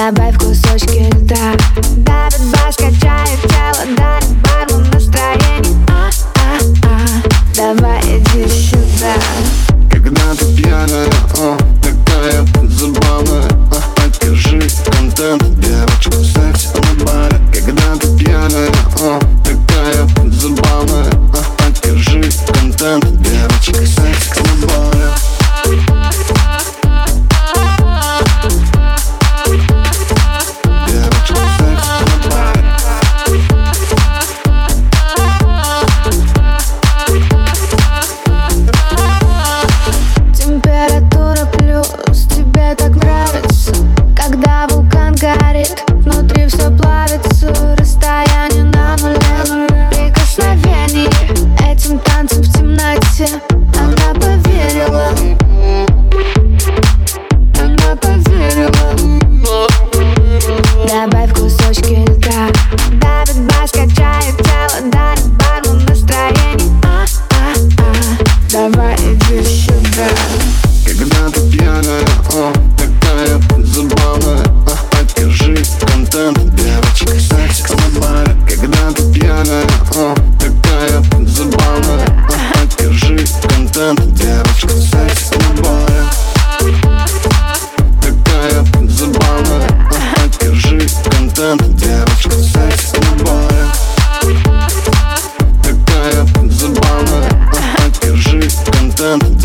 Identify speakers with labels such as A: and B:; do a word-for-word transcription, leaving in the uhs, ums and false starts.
A: Добавь кусочки льда. Давит бас, качает тело, дарит бармен настроение. А-а-а, давай иди сюда.
B: Когда ты пьяная, о, такая забавная, а, поддержи контент, девочка, секс на баре. Когда ты пьяная, о, такая забавная, а, поддержи контент, девочка, секс на баре.
A: Температура плюс, тебе так нравится, когда вулкан горит, внутри все плавится, расстояние на нуле, прикосновение этим танцем в темноте. Она поверила, она поверила. Добавь кусочки льда. Давит бас, качает тело, дарит бармен настроение. А-а-а, давай иди сюда.
B: Когда ты пьяная, о, такая забавная, а, поддержи контент, девочка, секс на баре. Когда ты пьяная, о, такая забавная, а, поддержи контент, девочка, секс на баре. Такая забавная, а, поддержи контент, девочка, секс на баре. Такая забавная, а, поддержи контент.